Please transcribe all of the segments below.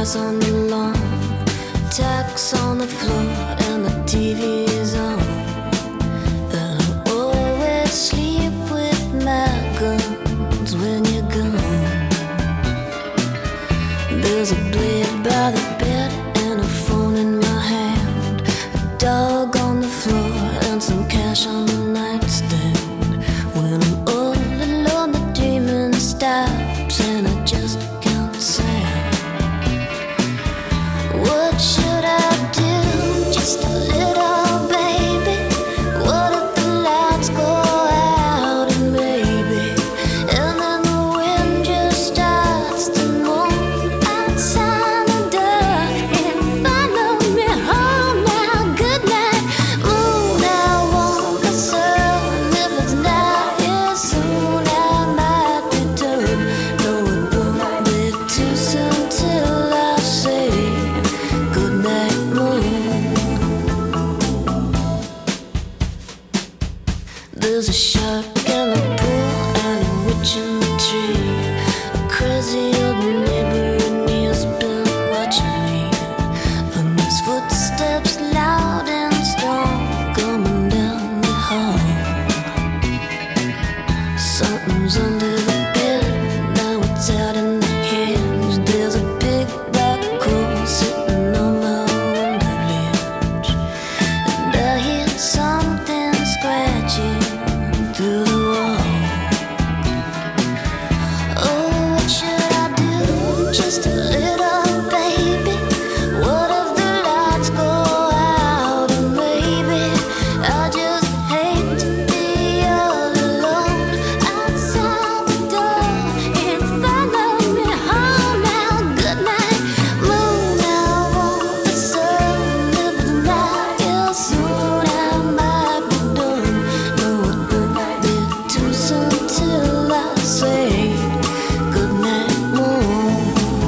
on the lawn, tacks on the floor, and the TV is on. And I always sleep with my guns when you're gone. There's a blade by the bed and a phone in my hand, a dog on the floor and some cash on the nightstand. When I'm all alone, the dreaming stops and I just can't sound. What should I do? Just a little baby. What if the lights go out and maybe, and then the wind just starts to moan outside the door and follow me home now. Good night, moon. I want the sun. If it's not here soon, I might be done. No, it won't be too soon till I say good night, moon. There's a shark in the pool and a witch in the tree. A crazy old neighbor and he's been watching me. And his footsteps loud and strong coming down the hall. Something's under the bed, now it's out in the hedge. There's a big black hole sitting on my window ledge, and I hear something scratching through the wall. Oh, what should I do? Just a little baby. What if the lights go out and maybe I just hate to be all alone outside the door and follow me home now. Good night, moon. I want the sun. If it's not here soon, I might be done. No, it won't be too soon till I say good night, moon.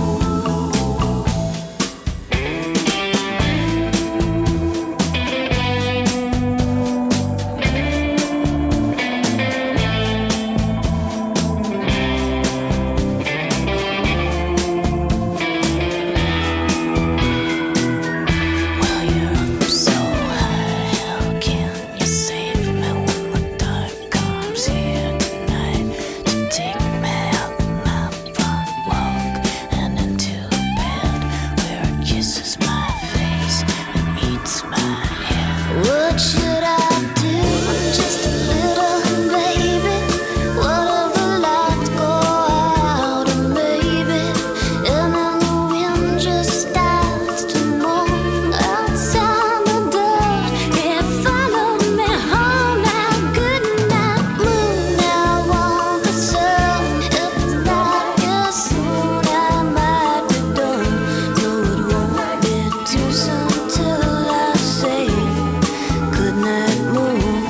Well, you're up so high, how can you save me when the dark comes here tonight to take me out my front walk and into bed where it kisses my face and eats my head? What should I do? Just a little baby. What if the lights go out and maybe, and then the wind just starts to moan outside the door and follow me home now. Good night, moon. I want the sun. If it's not here soon, I might be done. No, it won't be too soon till I say good night, moon.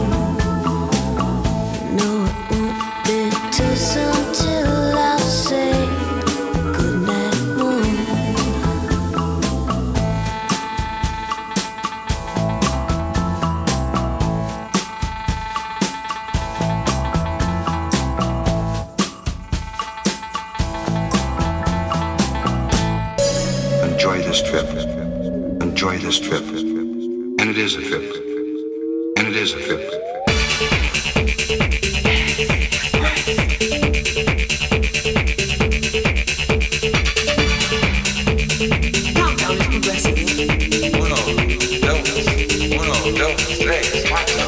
No, it won't be too soon till I say good night, moon. Enjoy this trip. Enjoy this trip. And it is a trip. And it is a trip. Countdown is progressing. Uno, dos, tres, cuatro.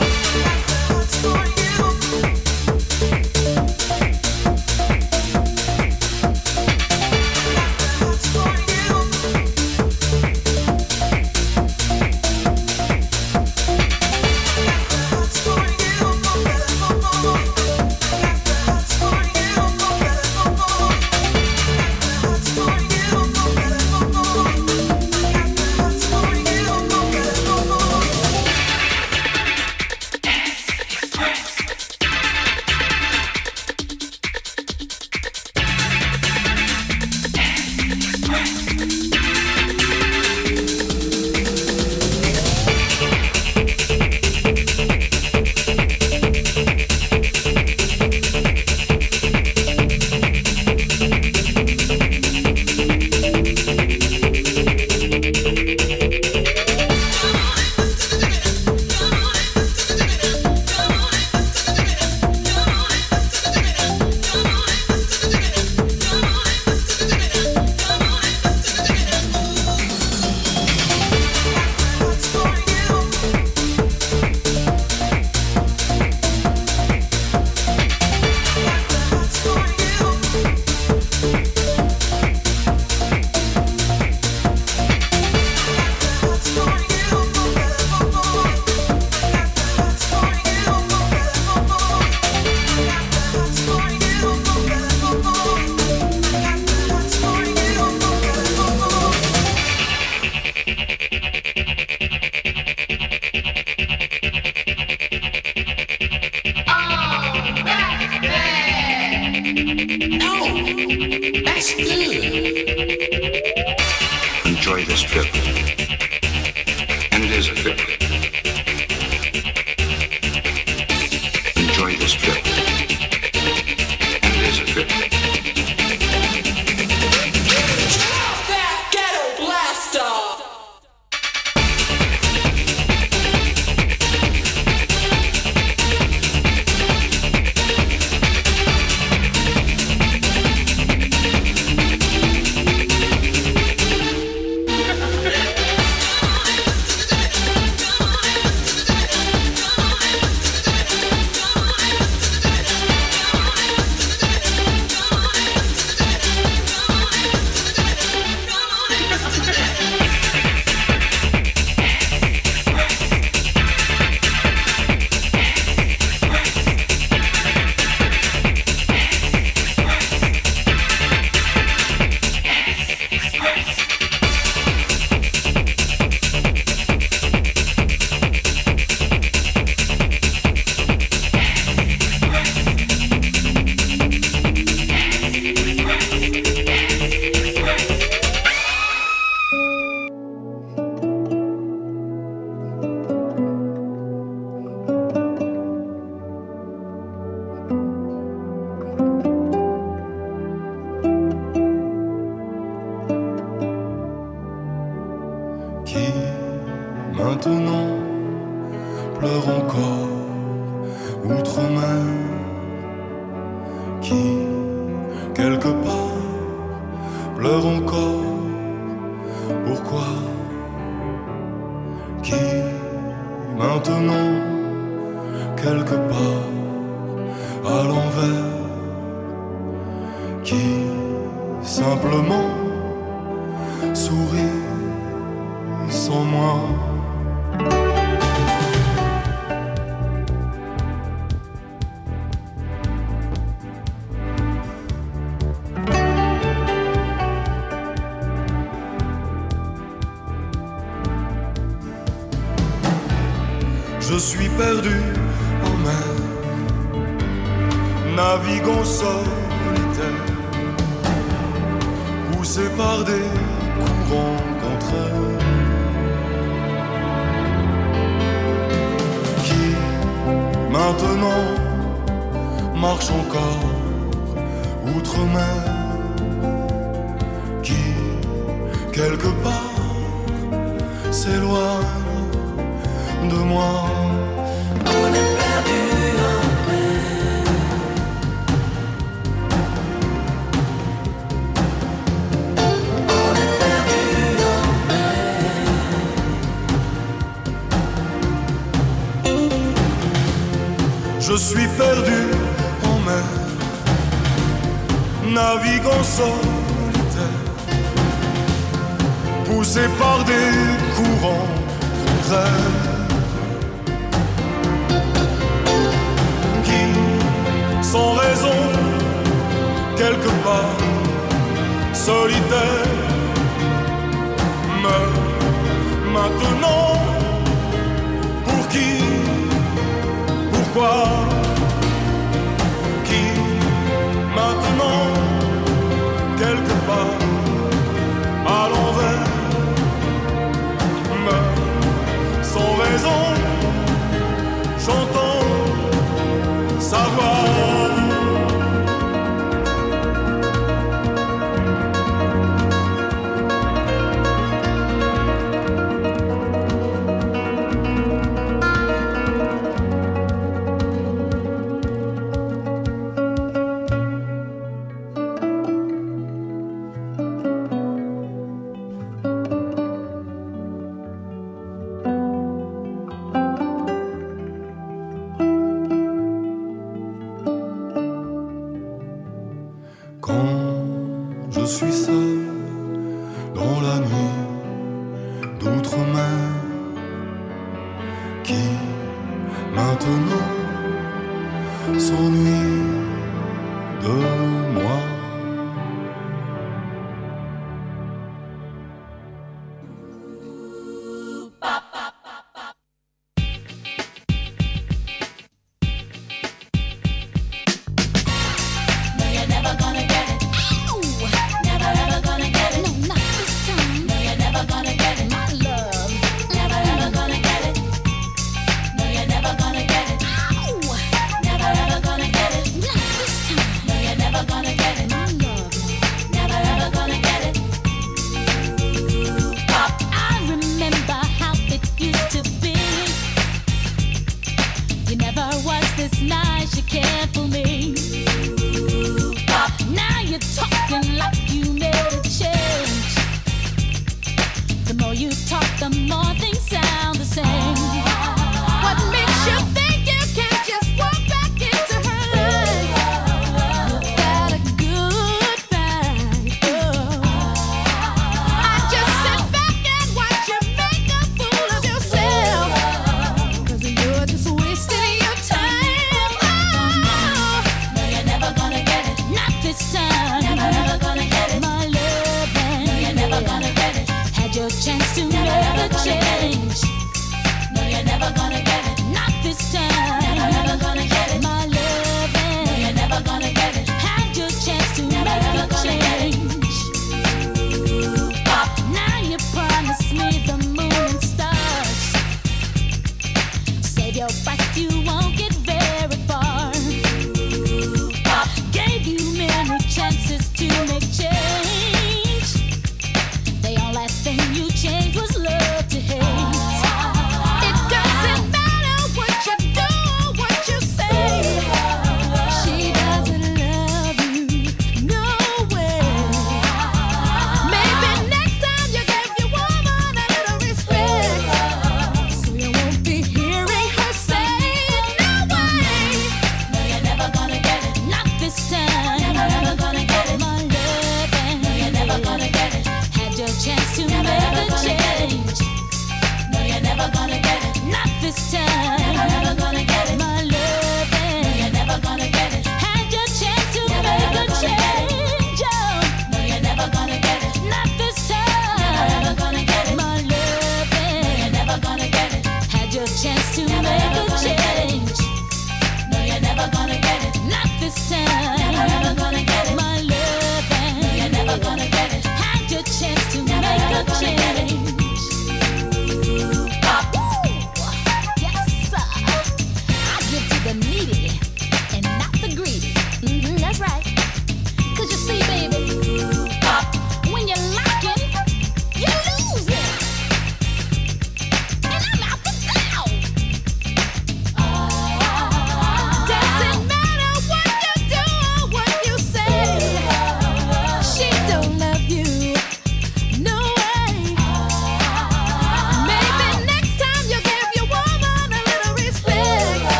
That's good. Enjoy this trip. And it is a trip. Enjoy this trip. And it is a trip. That ghetto blaster. Maintenant pleure encore outre-mer, qui quelque part pleure encore. Pourquoi? Qui maintenant quelque part à l'envers, qui simplement sourit sans moi. Je suis perdu en mer, naviguant solitaire, poussé par des courants contraires, qui maintenant marche encore outre-mer, qui quelque part s'éloigne de moi. On est perdu en mer. On est perdu en mer. Je suis perdu en mer, naviguant solitaire, poussé par des courants contraires, sans raison, quelque part, solitaire, meurt maintenant. Pour qui? Pourquoi? Qui maintenant, quelque part, à l'envers, meurt sans raison. J'entends sa voix.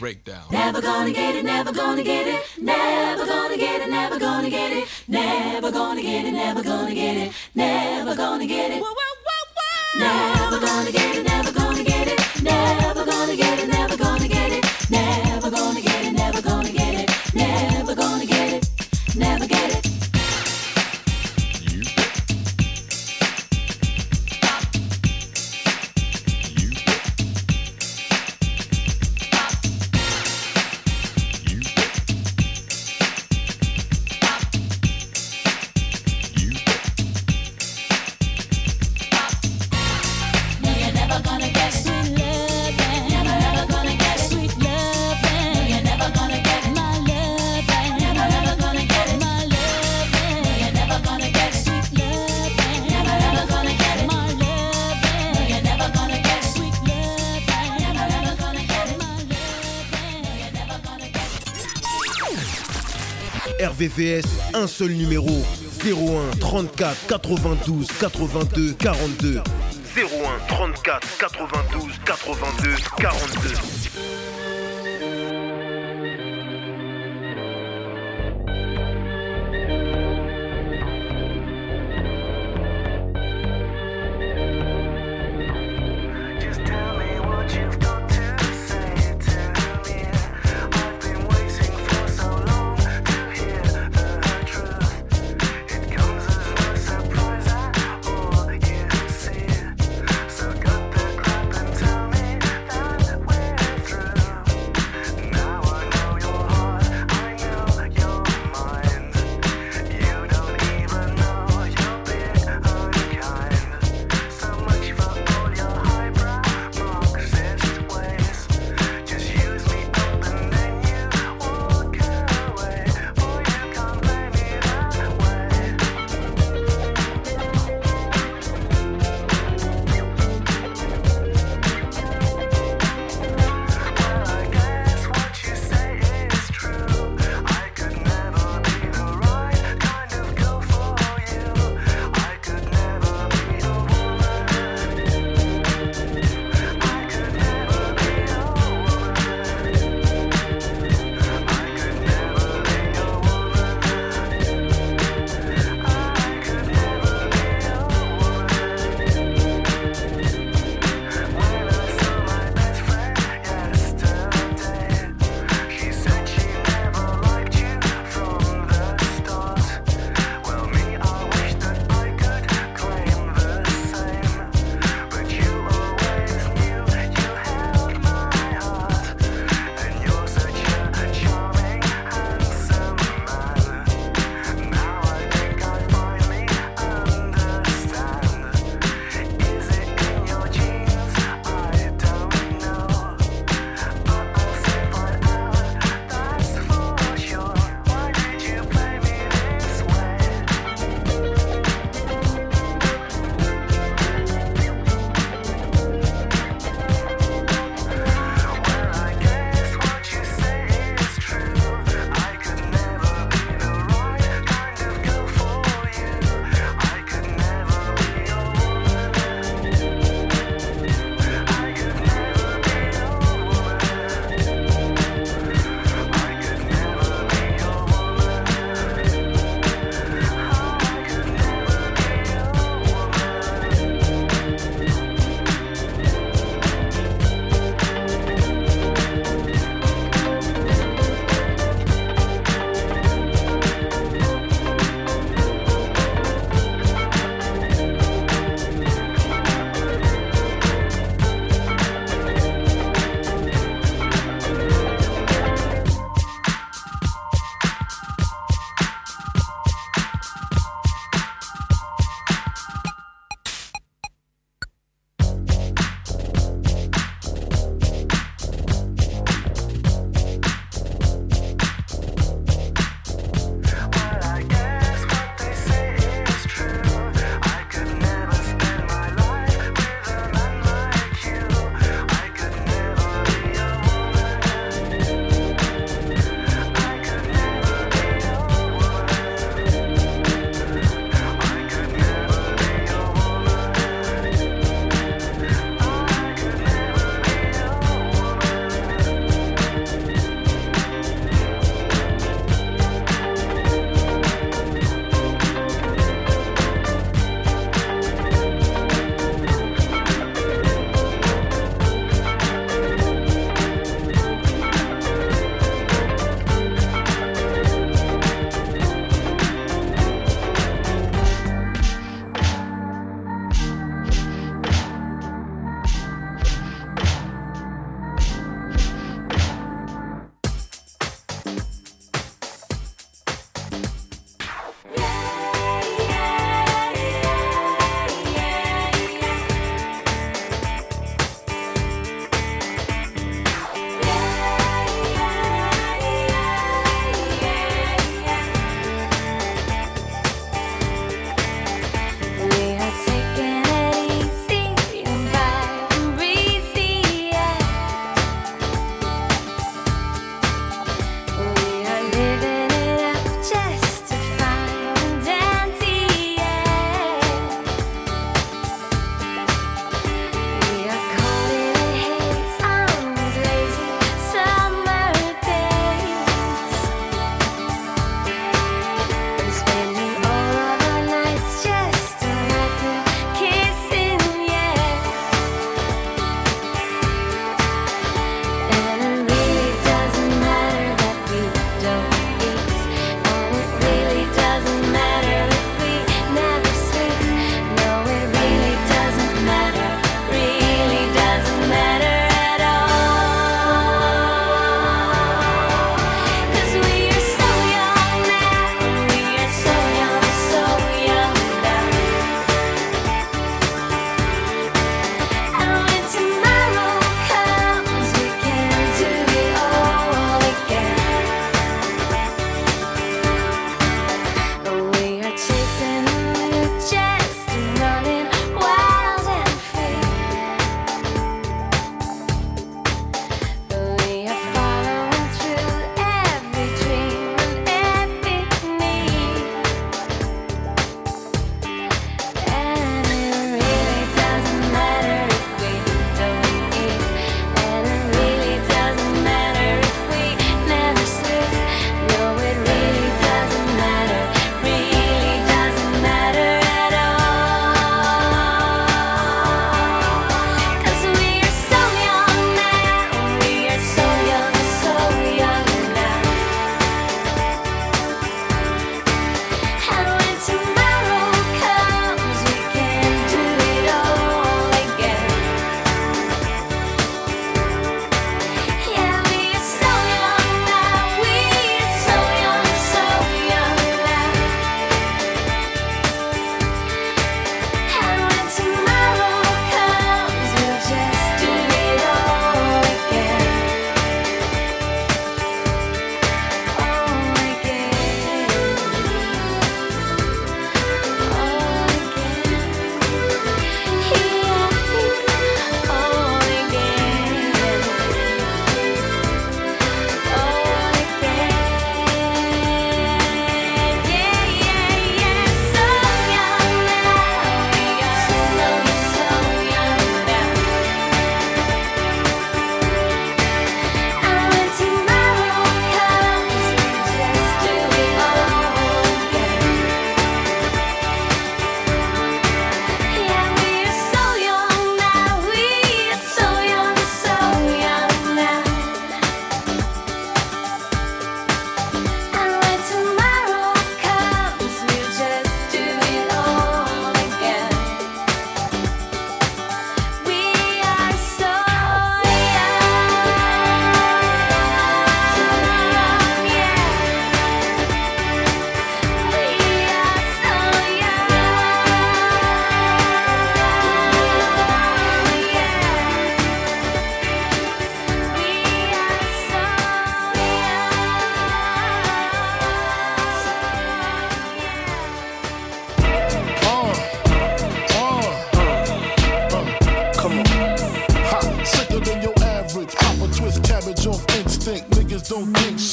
breakdown. Never gonna get it, never gonna get it, never gonna get it, never gonna get it, never gonna get it, never gonna get it, never gonna get it. Never gonna get it, never gonna get it, never gonna get it, never gonna get it, never gonna get it, never gonna get it, never gonna get it, never get it. RVVS, un seul numéro, 01 34 92 82 42. 01 34 92 82 42. So cut the crap and tell me that we're through.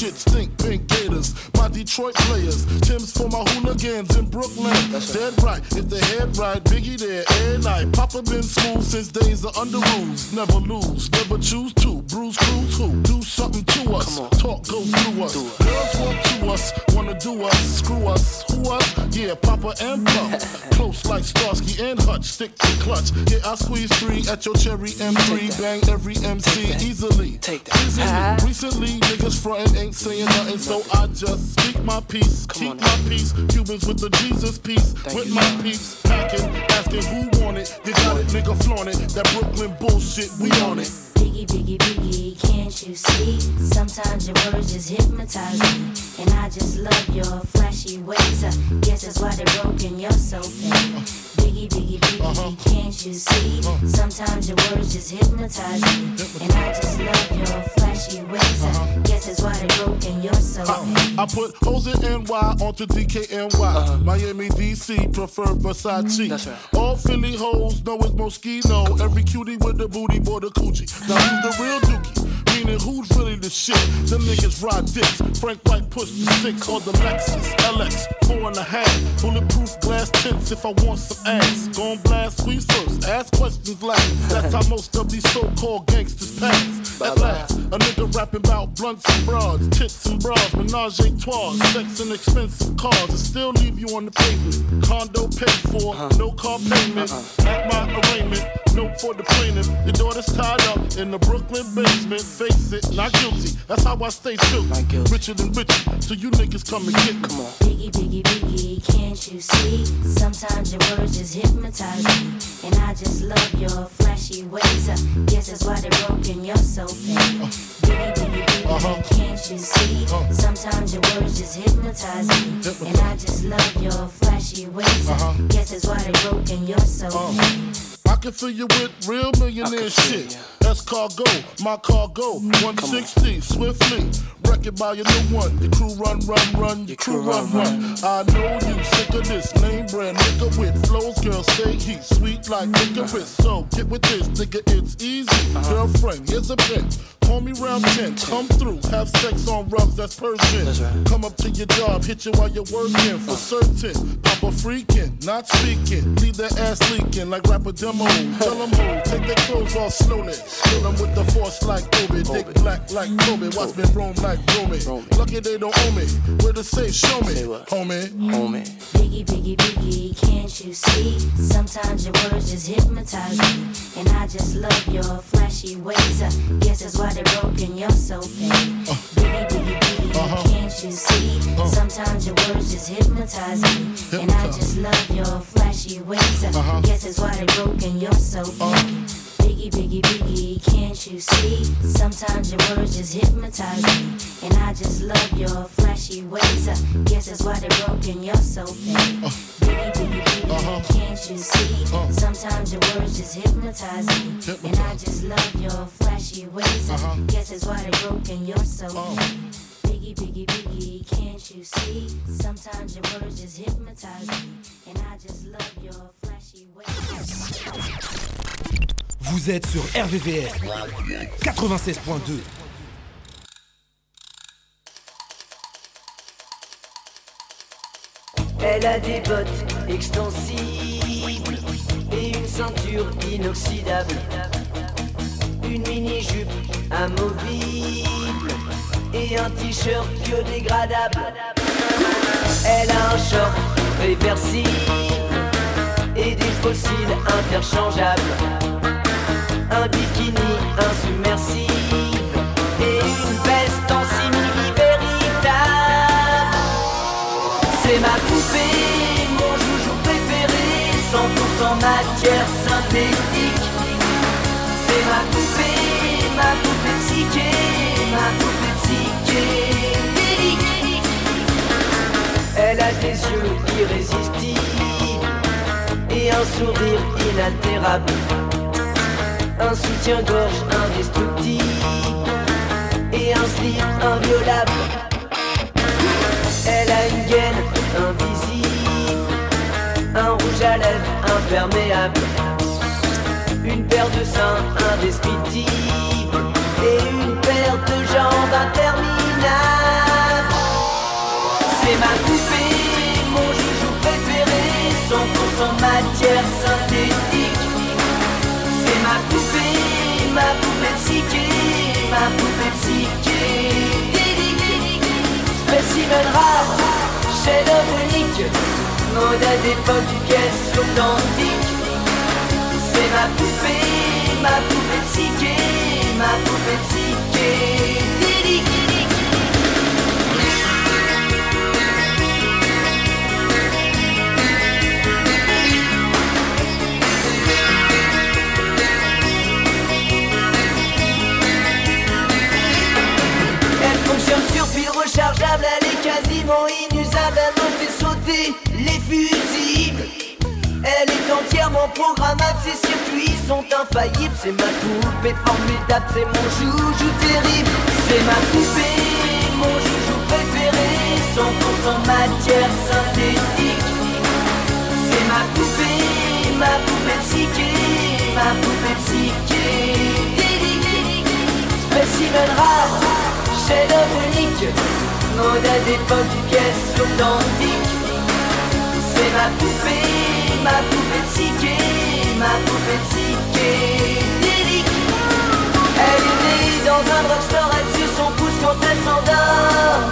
shit stink, pink gators. My Detroit players, Tim's for my hooligans in Brooklyn. Dead right, if they head right, Biggie there, every night. Papa been smooth since days of under rules. Never lose, never choose to. Bruise, cruise, who? Do something to us. Talk, go through us. Girls want to us, wanna do us, screw us. Who us? Yeah, Papa and Pop. Close like Starsky and Hutch, stick to clutch. Yeah, I squeeze 3 at your cherry M3. Bang every MC easily. Easily. Recently, niggas frontin' ain't saying nothing, so I just speak my peace, keep my peace. Cubans with the Jesus peace, with my peeps. Packing, asking who want it. You got it, nigga, flaunt it. That Brooklyn bullshit, we on it. Biggie, Biggie, Biggie, can't you see? Sometimes your words just hypnotize me. And I just love your flashy ways. Guess that's why they're broken, you're so fake. Biggie, Biggie, Biggie, can't you see? Sometimes your words just hypnotize me. And I just love your flashy ways. Guess that's why they're broken, you're so fake. I put O's in NY onto DKNY. Miami, DC, prefer Versace. That's right. All Philly hoes know it's Moschino. Every cutie with the booty, boy, the coochie. Now who's the real dookie? Meaning who's really the shit? Them niggas ride dicks. Frank White pushed the 6 on the Lexus LX 4.5. Bulletproof glass tints if I want some ass. Gon' blast squeeze first, ask questions last. That's how most of these so-called gangsters pass. At last, a nigga rapping about blunts and broads, tits and bras, menage a trois, sex and expensive cars, and still leave you on the pavement. Condo paid for, no car payment. At my arraignment, note for the plaintiff. Your daughter's tied up in the Brooklyn basement. Face it, not guilty. That's how I stay true. Richer than richer, so you niggas come and get me. Come on. Biggie, Biggie, Biggie, can't you see? Sometimes your words just hypnotize me. And I just love your flashy ways. Guess that's why they're broken, you're so fake. Biggie, Biggie, Biggie, can't you see? Sometimes your words just hypnotize me. And I just love your flashy ways. Guess that's why they're broken, you're so fake. I can fill you with real millionaire shit. That's cargo, my cargo. 160, swiftly. Wreck it by your new one. Your crew run, your crew run. I know you sick of this name brand nigga with flows. Girls say he's sweet like licorice. So get with this, nigga, it's easy. Girlfriend, here's a pin. Call me round 10, come through, have sex on rugs, that's Persian. Right. Come up to your job, hit you while you're working, for certain. Papa freaking, not speaking, leave that ass leaking like rapper demo. Tell them who, take their clothes off slowly. Kill them with the force like Obi, dick black like Kobe, watch me roam like Romy. Lucky they don't owe me, where to say, show me, homie. Biggie, Biggie, Biggie, can't you see? Sometimes your words just hypnotize me. And I just love your flashy ways. Guess that's why they're broken, you're so fake. Biggie, Biggie, Biggie, can't you see? Sometimes your words just hypnotize me. And I just love your flashy ways. Guess that's why they're broken, you're so fake. Biggie, Biggie, Biggie, can't you see? Sometimes your words just hypnotize me. And I just love your flashy ways. Guess that's why they're broken, you're so fake. Biggie, Biggie, Biggie, can't you see? Sometimes your words just hypnotize me. And I just love your flashy ways. Guess that's why they're broken, you're so fake. Biggie, Biggie, Biggie, can't you see? Sometimes your words just hypnotize me. And I just love your flashy ways. Vous êtes sur RVVS 96.2. Elle a des bottes extensibles et une ceinture inoxydable, une mini-jupe amovible et un t-shirt biodégradable. Elle a un short réversible et des fossiles interchangeables, un bikini insubmersible et une veste en simili véritable. C'est ma poupée, mon joujou préféré, 100% matière synthétique. C'est ma poupée psyché, ma poupée psychédélique. Elle a des yeux irrésistibles et un sourire inaltérable, un soutien-gorge indestructible et un slip inviolable. Elle a une gaine invisible, un rouge à lèvres imperméable, une paire de seins indescriptibles et une paire de jambes interminables. matière synthétique. C'est ma poupée psyché, ma poupée psyché. Spécimen rare, chef-d'œuvre unique, mode d'époque, pièce authentique. C'est ma poupée psyché, ma poupée psyché. Sur pile rechargeable, elle est quasiment inusable. Elle me fait sauter les fusibles. Elle est entièrement programmable, ses circuits sont infaillibles. C'est ma poupée formidable, c'est mon joujou terrible. C'est ma poupée, mon joujou préféré, 100% matière synthétique. C'est ma poupée psyché, ma poupée psyché. Spécimen rare, chef-d'œuvre unique, modèle d'époque, pièce authentique. C'est ma poupée psyché, ma poupée psyché. Elle est née dans un drugstore, elle suce son pouce quand elle s'endort.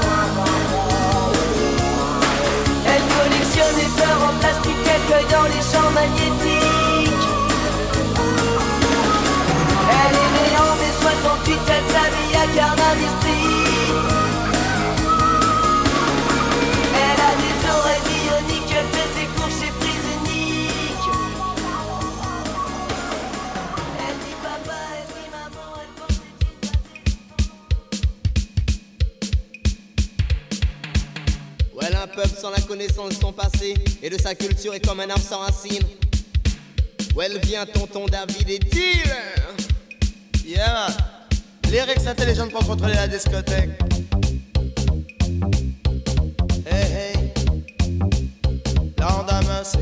Elle collectionne les fleurs en plastique qu'elle cueille dans les champs magnétiques. Elle est née en mai 68, elle s'habille à Carnaby Street. Elle a des oreilles bioniques, elle fait ses cours chez Prisonique. Elle dit papa, elle dit maman, elle porte des Ouais, un peuple sans la connaissance de son passé et de sa culture est comme un arbre sans racines. Où elle vient, tonton David et dealer. Yeah, lyrics intelligentes pour contrôler la discothèque. Hey, hey, Lord have mercy.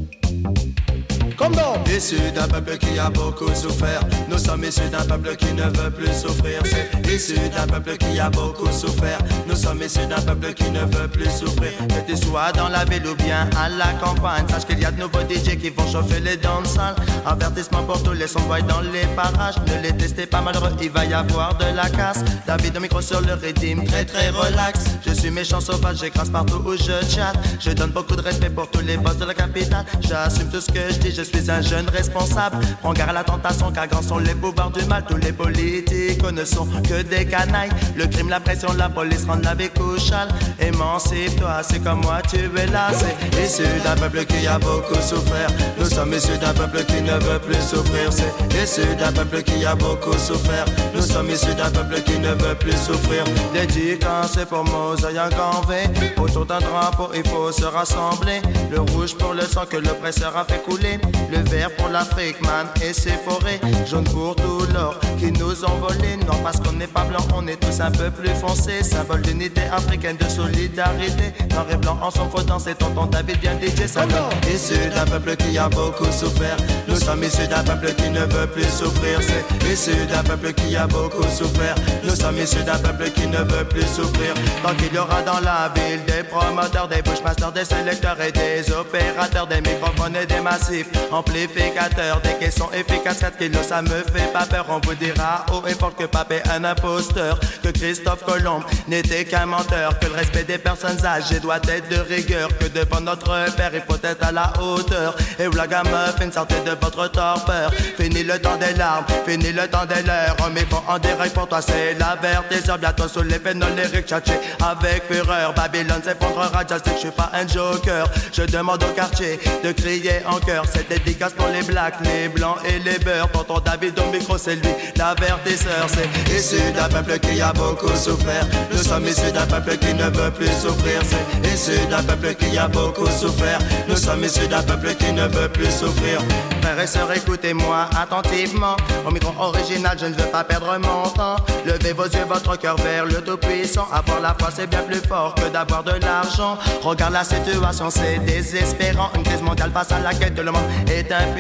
Comme dans issus d'un peuple qui a beaucoup souffert. Nous sommes issus d'un peuple qui ne veut plus souffrir. C'est issus d'un peuple qui a beaucoup souffert. Nous sommes issus d'un peuple qui ne veut plus souffrir. Que tu sois dans la ville ou bien à la campagne, sache qu'il y a de nouveaux DJ qui vont chauffer les danses-salles. Avertissement pour tous les sons dans les parages. Ne les testez pas malheureux, il va y avoir de la casse. David au micro sur le rythme, très très relax. Je suis méchant sauvage, j'écrase partout où je chatte. Je donne beaucoup de respect pour tous les boss de la capitale. J'assume tout ce que je dis, je suis un jeune responsable. Prends garde à la tentation car grands sont les pouvoirs du mal. Tous les politiques ne sont que des canailles. Le crime, la pression, la police rendent la vie couchale. Émancipe-toi, c'est comme moi tu es là. C'est issu d'un peuple qui a beaucoup souffert. Nous sommes issus d'un peuple qui ne veut plus souffrir. C'est issu d'un peuple qui a beaucoup souffert. Nous sommes issus d'un peuple qui ne veut plus souffrir. Dédicace pour Mosaïque en V. Autour d'un drapeau il faut se rassembler. Le rouge pour le sang que l'oppresseur a fait couler. Le vert pour l'Afrique, man, et ses forêts. Jaune pour tout l'or qui nous ont volé. Non, parce qu'on n'est pas blanc, on est tous un peu plus foncés. Symbole d'unité africaine, de solidarité. Noir et blanc en son faux dans c'est tonton David bien DJ. Ça issu d'un peuple qui a beaucoup souffert. Nous sommes issus d'un peuple qui ne veut plus souffrir. C'est issu d'un peuple qui a beaucoup souffert. Nous sommes issus d'un peuple qui ne veut plus souffrir. Tant qu'il y aura dans la ville des promoteurs, des bushmasters, des sélecteurs et des opérateurs, des microphones et des massifs amplificateurs, des caissons efficaces, 4 kilos ça me fait pas peur. On vous dira haut et fort que Pape est un imposteur, que Christophe Colomb n'était qu'un menteur, que le respect des personnes âgées doit être de rigueur, que devant notre père il faut être à la hauteur. Et où la gamme fait une sortie de votre torpeur. Fini le temps des larmes, fini le temps des leurs. On met en direct pour toi c'est l'avertisseur. Bientôt sous les pénols lyriques tchatché avec fureur. Babylone s'effondrera, je sais que je suis pas un joker. Je demande au quartier de crier en chœur. Cette dédicace pour les blacks, les blancs et les beurs. Tonton David au micro c'est lui l'avertisseur. C'est issu d'un peuple qui a beaucoup souffert. Nous sommes issus d'un peuple qui ne veut plus souffrir. C'est issu d'un peuple qui a beaucoup souffert. Nous sommes issus d'un peuple qui ne veut plus souffrir. Frères et sœurs, écoutez-moi attentivement. Au micro original, je ne veux pas perdre mon temps. Levez vos yeux, votre cœur vers le Tout-Puissant. Avoir la foi, c'est bien plus fort que d'avoir de l'argent. Regarde la situation, c'est désespérant. Une crise mondiale face à laquelle tout le monde est impuissant.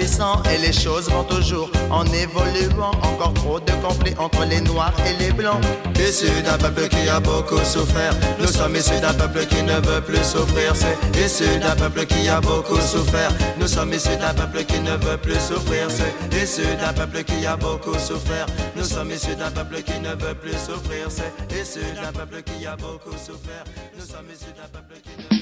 grandissant et les choses vont toujours en évoluant. Encore trop de conflits entre les noirs et les blancs. Issus d'un peuple qui a beaucoup souffert, nous sommes issus d'un peuple qui ne veut plus souffrir. C'est issu d'un peuple qui a beaucoup souffert, nous sommes issus d'un peuple qui ne veut plus souffrir. C'est issu d'un peuple qui a beaucoup souffert, nous sommes issus d'un peuple qui ne veut plus souffrir. C'est issu d'un peuple qui a beaucoup souffert, nous sommes issus d'un peuple qui ne veut plus souffrir.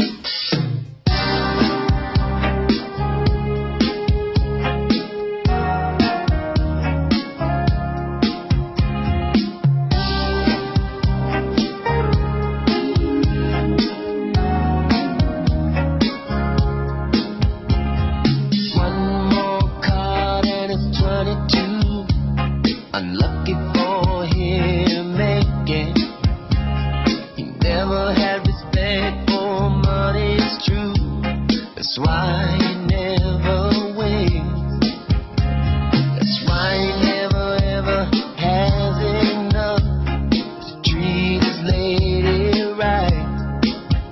Unlucky for him again. He never had respect for money, it's true. That's why he never wins. That's why he never ever has enough to treat his lady right.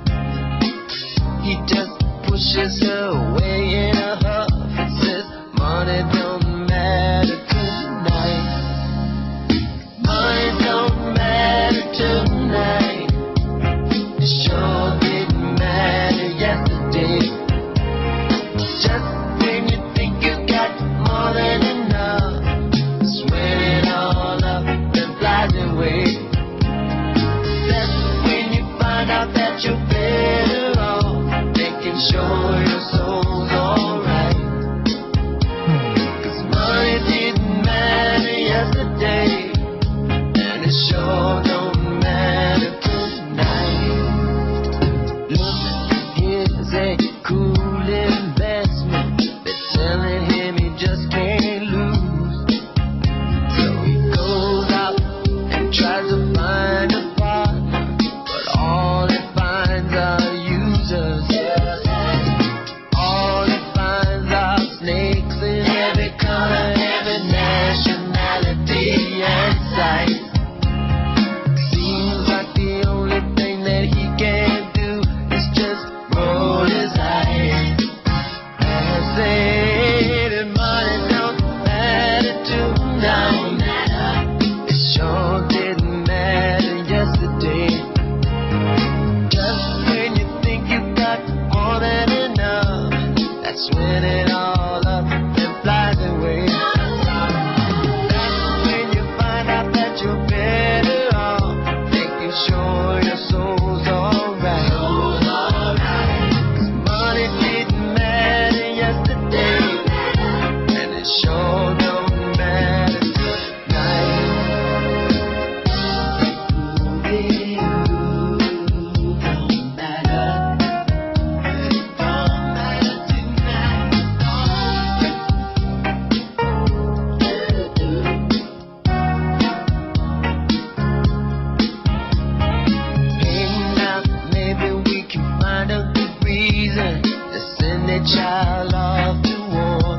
He just pushes her away in a huff and says, money don't matter tonight. Money don't matter tonight. It sure didn't matter yesterday. Just when you think you got more than enough, it's when it all up and flies away. That's when you find out that you're better off making sure your soul's alright. 'Cause money didn't matter yesterday. It sure don't matter tonight. Look, here's a cool investment. They're telling him he just can't lose. So he goes out and tries to find a partner, but all he finds are users. All he finds are snakes in every color, every nationality and size. When it all up and flies away, that's when you find out that you're better off making sure your soul's alright. 'Cause money didn't matter yesterday, and it sure don't matter tonight. Don't matter. Child off to war.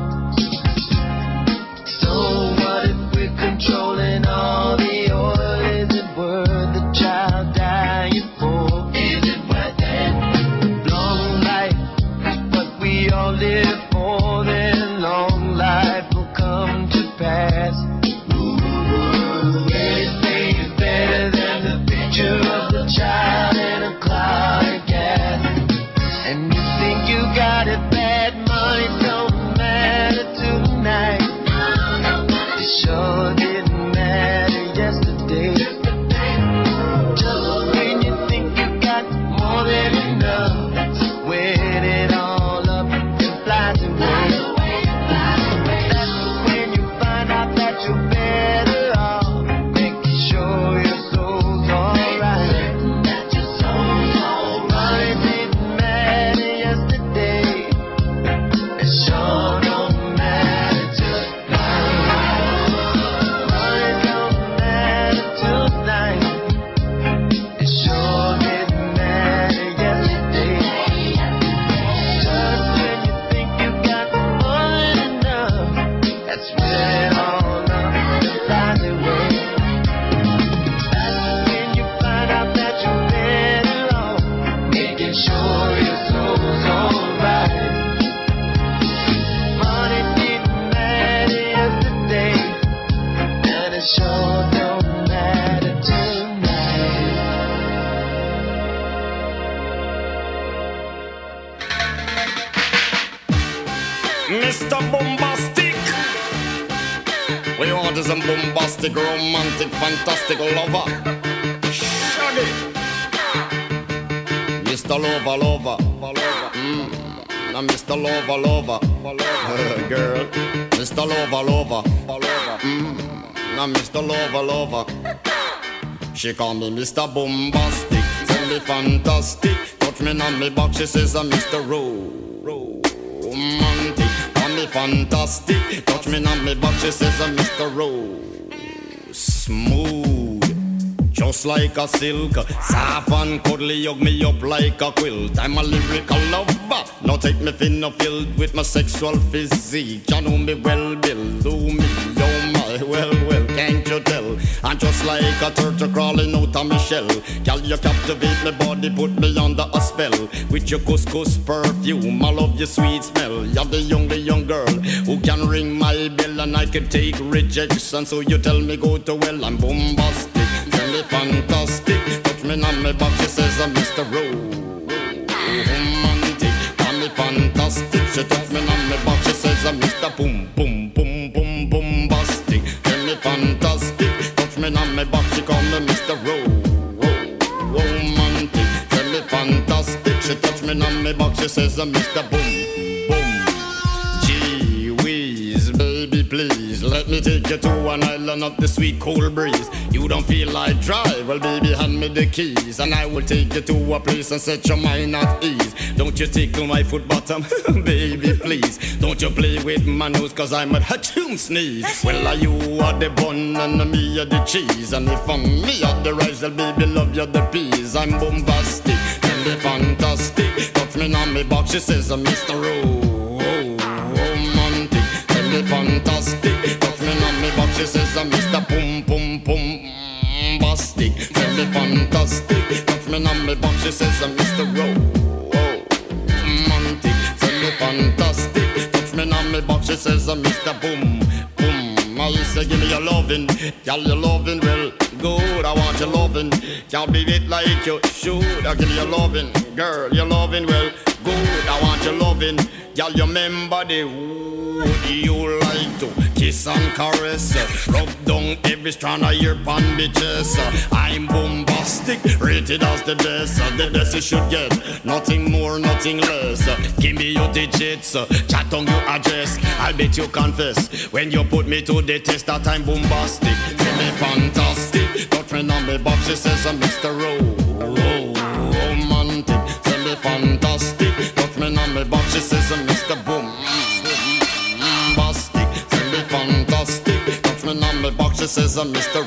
So what if we're controlling all the oil? Is it worth the child dying for? Is it worth it? Long life is what we all live for, then long life will come to pass. Anything is better than the picture of the child in a cloud of gas. And you think you got it bad, money don't matter tonight. It sure didn't matter yesterday. Just when you think you got more than enough, that's when it all up and flies away. That's when you find out that you're better off making sure your soul's alright. That your soul's alright. Money didn't matter yesterday. It sure don't matter tonight. Money don't matter tonight. It sure didn't matter yesterday. Just when you think you got more than enough, that's when all up and flies away. That's when you find out that you're better off making sure your soul's alright. Money Mr. Bombastic. We want is a bombastic, romantic, fantastic lover. Shaggy. Mr. Lover. Now Mr. Lover. Girl. Mr. Lover. Now Mr. Lover. She call me Mr. Bombastic. Tell me fantastic. Touch me on me back. She says I'm Mr. Romantic. Call me fantastic. Touch me on me back. She says I'm Mr. Smooth. Just like a silk, soft and cuddly, hug me up like a quilt. I'm a lyrical lover. Now take me thin or filled with my sexual physique. You know me well, Bill. Do me, oh my, well, can't you tell? I'm just like a turtle crawling out of my shell. Girl, you captivate my body, put me under a spell. With your couscous perfume, I love your sweet smell. You're the young girl who can ring my bell, and I can take rejection. So you tell me go to well, I'm bombastic. Tell me fantastic. Touch me on my back, she says I'm Mr. Romantic. Tell me fantastic. She touch me on my back, she says I'm Mr. Bombastic. Tell me fantastic. Touch me on my back, she call me Mr. Romantic. Tell me fantastic. She touch me on my back, she says I'm Mr. Gee whiz, baby please, let me take you to an island of the sweet cold breeze. You don't feel like drive, well baby hand me the keys, and I will take you to a place and set your mind at ease. Don't you tickle my foot bottom, baby please. Don't you play with my nose, cause I'm a hatchoon sneeze. Well you are the bun and me are the cheese, and if I'm me are the rice, well baby love you the peas. I'm bombastic, tell me fantastic. Touch me on me box, she says I'm Mr. Romantic. Tell me fantastic. Touch me on me box, she says I'm Mr. Bombastic. Tell me fantastic. Touch me on me box, she says I'm Mr. Romantic. Tell me fantastic. Touch me on me box, she says I'm Mr. Boom. I say give me your lovin', girl, your lovin' well good. I want your lovin', can't be it like you should. I give you your lovin', girl, your lovin' well good. I want your lovin', girl, you remember the wood you like to kiss and caress, rub down every strand of your bandages. I'm bombastic, rated as the best you should get. Nothing more, nothing less. Give me your digits, chat on your address. I'll bet you confess when you put me to the test that I'm bombastic. Tell me fantastic. Touch me on me box, she says I'm Mr. Romantic. Tell me fantastic. Touch me on me box, she says I'm Mr. Bombastic. Tell me fantastic. Touch me on me box, she says I'm Mr.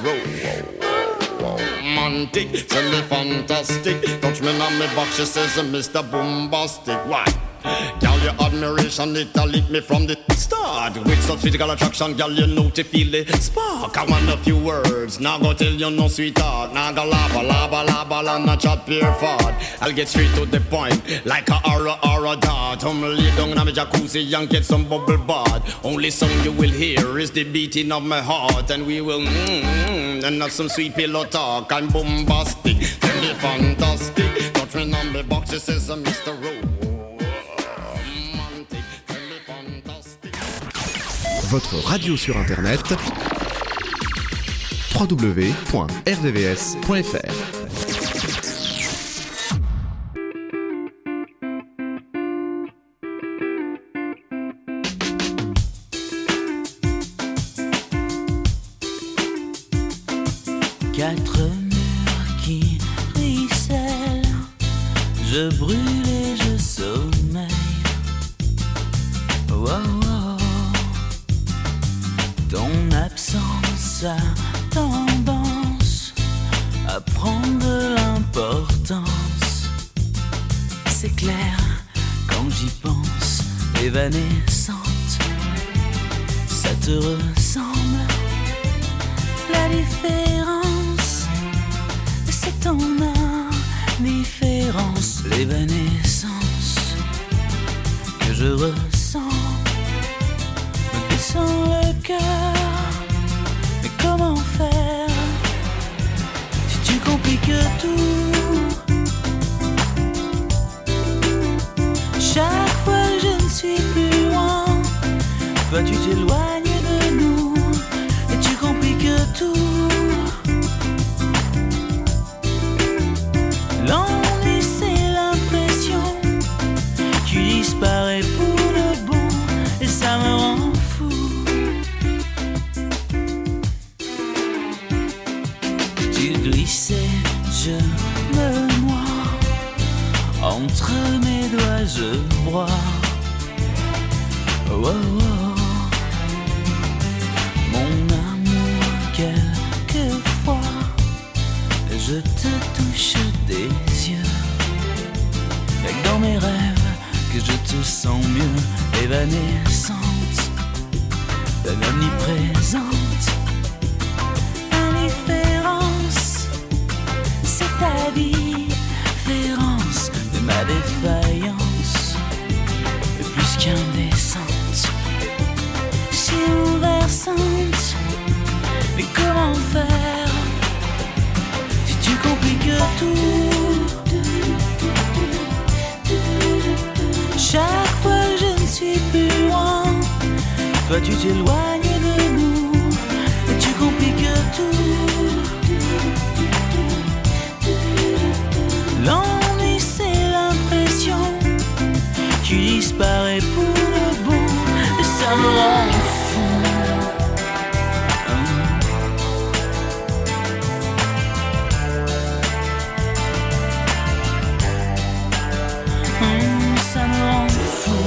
Romantic. Tell me fantastic. Touch me on me box, she says I'm Mr. Bombastic. Why? Girl, your admiration, it lit me from the start. With such physical attraction, girl, you know to feel the spark. I want a few words, now go tell you no sweetheart. Now go laba, not chat pure fart. I'll get straight to the point, like a aura dart. Lay down in my jacuzzi and get some bubble bath. Only song you will hear is the beating of my heart. And we will and have some sweet pillow talk. I'm bombastic, tell me fantastic. Touch me on the box, she says I'm Mr. Rowe. Votre radio sur internet www.rdvs.fr. Quatre murs qui ruissellent, je brûle et je sommeille. Oh, oh. Ton absence a tendance à prendre de l'importance. C'est clair quand j'y pense, évanescente, ça te ressemble. La différence, c'est ton indifférence. L'évanescence que je ressens me descend le cœur. Mais comment faire si tu compliques tout? Chaque fois que je ne suis plus loin, Toi tu t'éloignes de nous et tu compliques tout. L'ennui c'est l'impression tu disparais pour de bon et ça me rend fou. Tu glissais, je me noie, entre mes doigts je broie. Oh, oh, oh. Mon amour, quelquefois je te touche des yeux, et dans mes rêves que je te sens mieux, évanescente, omniprésente. Indifférence, c'est ta différence de ma défaillance, plus qu'indécente, si renversante. Mais comment faire si tu compliques tout? Chaque fois que je ne suis plus loin, toi tu t'éloignes de nous et tu compliques tout. L'ennui c'est l'impression tu disparais pour le bon et ça me rend fou. Ça me rend fou.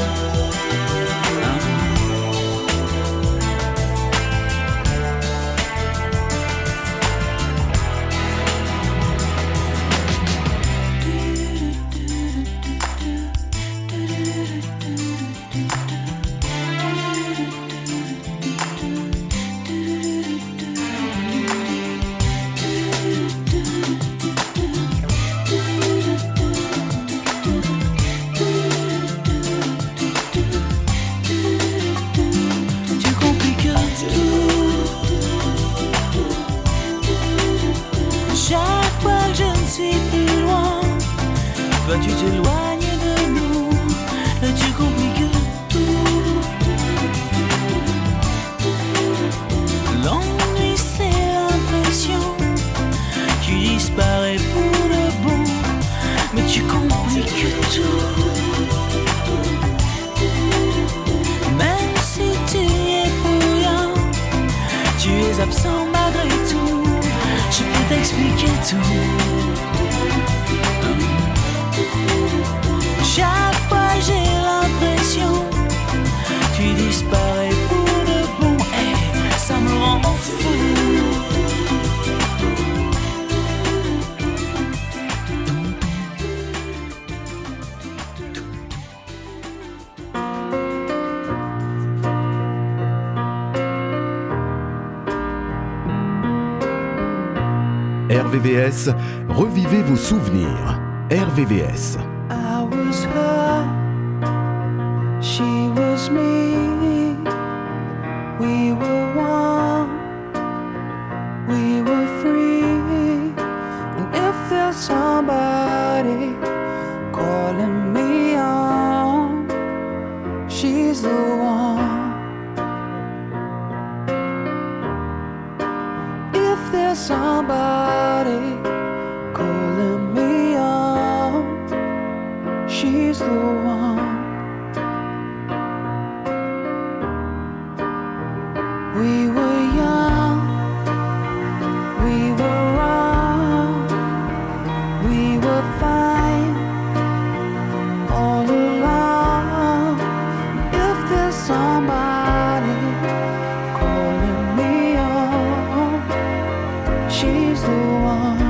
Toi tu t'éloignes de nous et tu compliques tout. L'ennui c'est l'impression tu disparais pour le bon, mais tu compliques tout. Même si tu y es pour rien, tu es absent malgré tout. Je peux t'expliquer tout. Chaque fois j'ai l'impression tu disparais pour de bon et ça me rend fou. RVVS, revivez vos souvenirs. RVVS. I was her, she was me. We were one, we were free. And if there's somebody calling me on, she's the one. If there's somebody calling me on, she's the one. We were young, we were wrong, we were fine all along. If there's somebody calling me on, she's the one.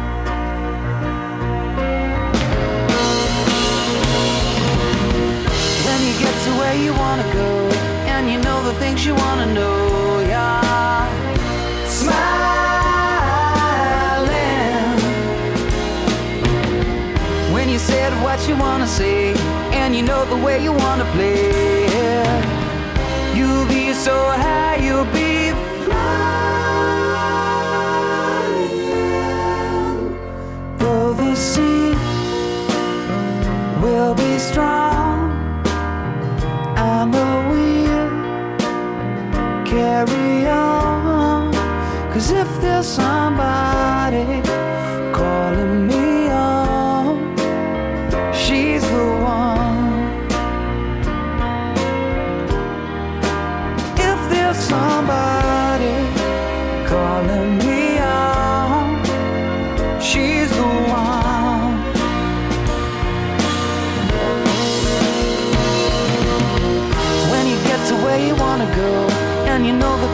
When you get to where you wanna go, and you know the things you wanna know, yeah. Smiling. When you said what you wanna say, and you know the way you wanna play, yeah. You'll be so high, you'll be flying. Though the sea will be strong, and the wind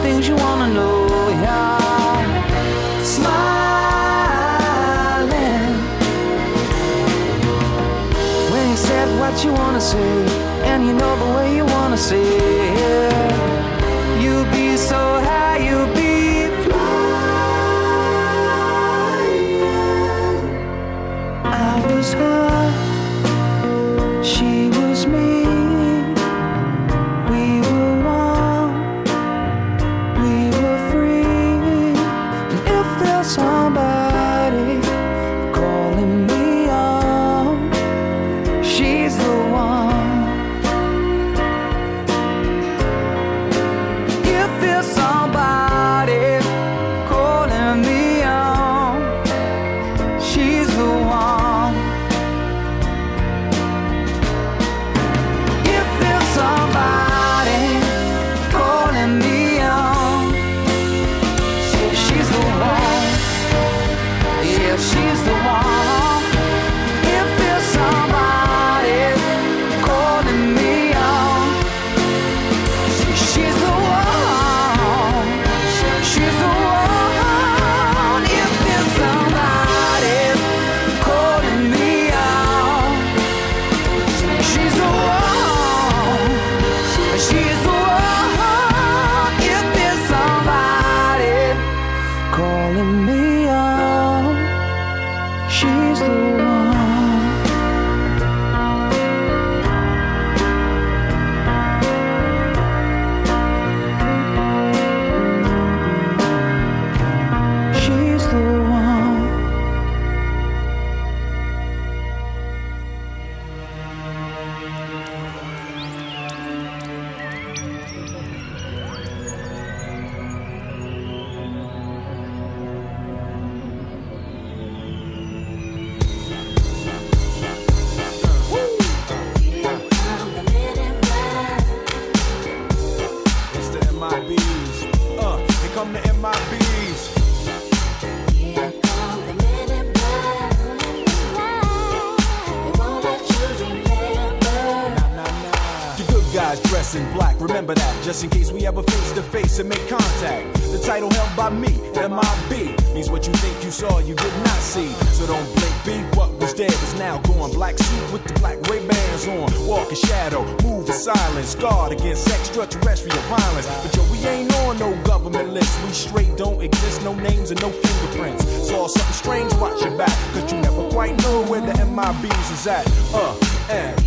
things you wanna know, yeah. Smiling when you said what you wanna say, and you know the way you wanna say it. You'll be so high, you'll be flying. I was her, she was me. We were one, we were free. And if there's somebody calling me on, she's the one. If there's somebody calling me on, she's the one. If there's somebody calling me on, she's the one. Yeah, she's the one. If there's somebody calling me on, she's the one. She's the one. If there's somebody calling me on, she's the one. She's the one. If there's somebody calling me on, she's the one. She's the one. It's the MIBs. Here come the MIBs. The good guys dress in black, remember that, just in case we ever face to face and make contact. The title held by me, MIB, means what you think you saw, you did not see. So don't blink, be what was dead is now gone. Black suit with the black Ray-Bans on, walk in shadow, move in silence, guard against extraterrestrial violence. But yo, we ain't on no government list, we straight don't exist, no names and no fingerprints. Saw something strange, watch your back, cause you never quite know where the MIBs is at. And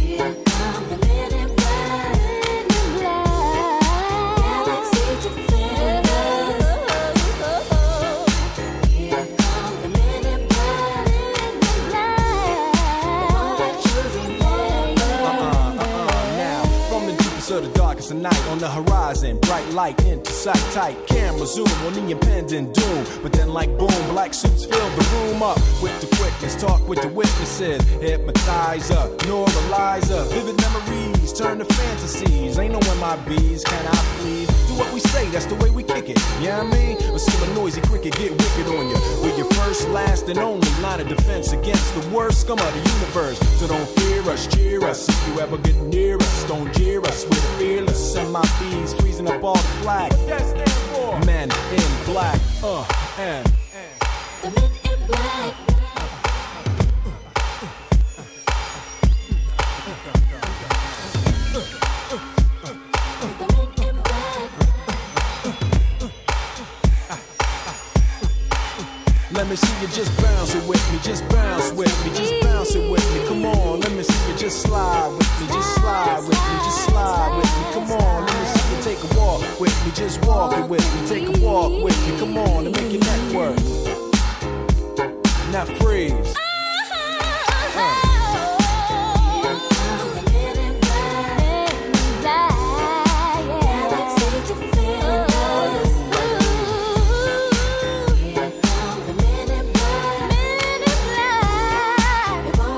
of the darkest of night on the horizon, bright light into sight, tight camera zoom on the impending doom. But then like boom, black suits fill the room up with the quickness, talk with the witnesses, hypnotizer, neuralizer, vivid memories turn to fantasies. Ain't no MIBs, can I please? Do what we say, that's the way we kick it. You know what I mean? Or see a noisy cricket get wicked on you. We're your first, last, and only line of defense against the worst scum of the universe. So don't fear us, cheer us. If you ever get near us, don't jeer us. We're fearless. MIBs freezing up all the flag. What that stand for? Men in black. And the men in black. let me see you just bounce it with me, just bounce with me, just bounce it with me. Come on, let me see you just slide with me, just slide with me, just slide with me. Come on, let me see you take a walk with me, just walk it with me, take a walk with me. Come on, and make your neck work. Now freeze.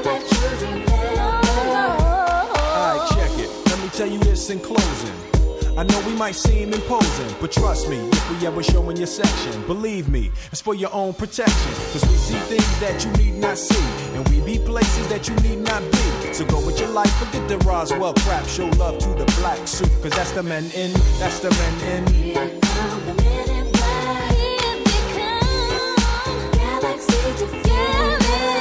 In closing, I know we might seem imposing, but trust me, if we ever show in your section, believe me, it's for your own protection. Cause we see things that you need not see, and we be places that you need not be. So go with your life, forget the Roswell crap, show love to the black suit, cause that's the men in, that's the men in. Here come the men in black. Here they come. Galaxy defenders.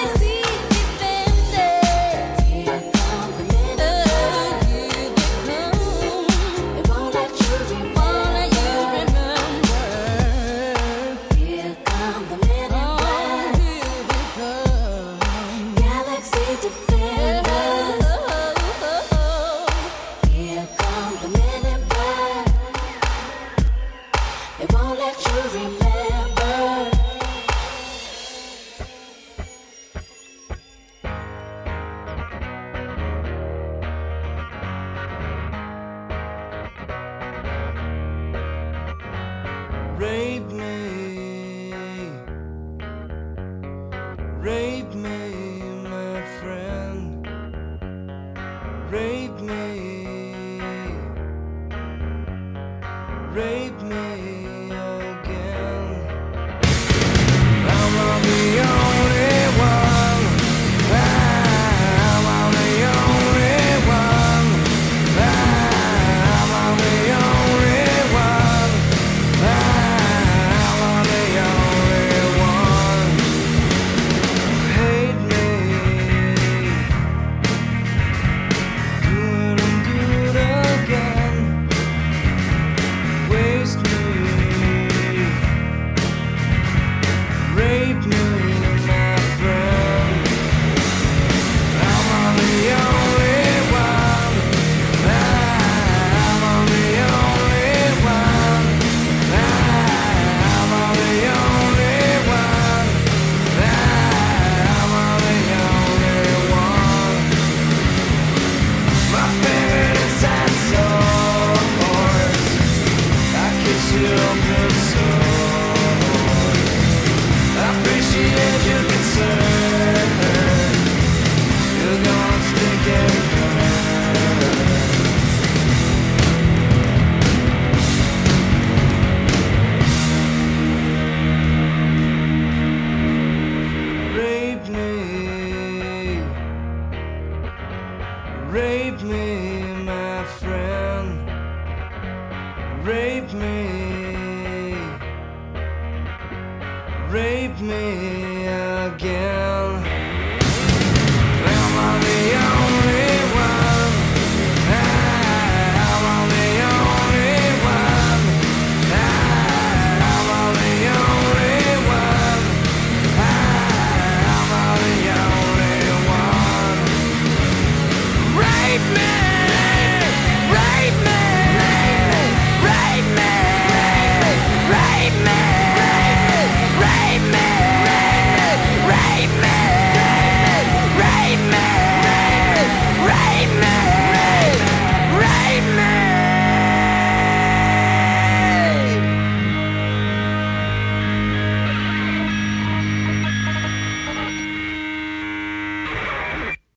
Here come the men in black. Here they come. They won't let you remember. Here come the men in black. Here they come. Galaxy defenders. Here come the men in black. They won't let you remember. Rape me, my friend. Rape me again. I'm the only one. I'm the only one. I'm the only one. I'm the only one. Hate me. Do it and do it again. Waste me. Rape me, my friend. I'm the only one. I'm the only one. I'm the only one. I'm the only one. My favorite is that sword. I kiss you on the sword. I appreciate your concern. You're gonna stick and Rape me, my friend. Rape me.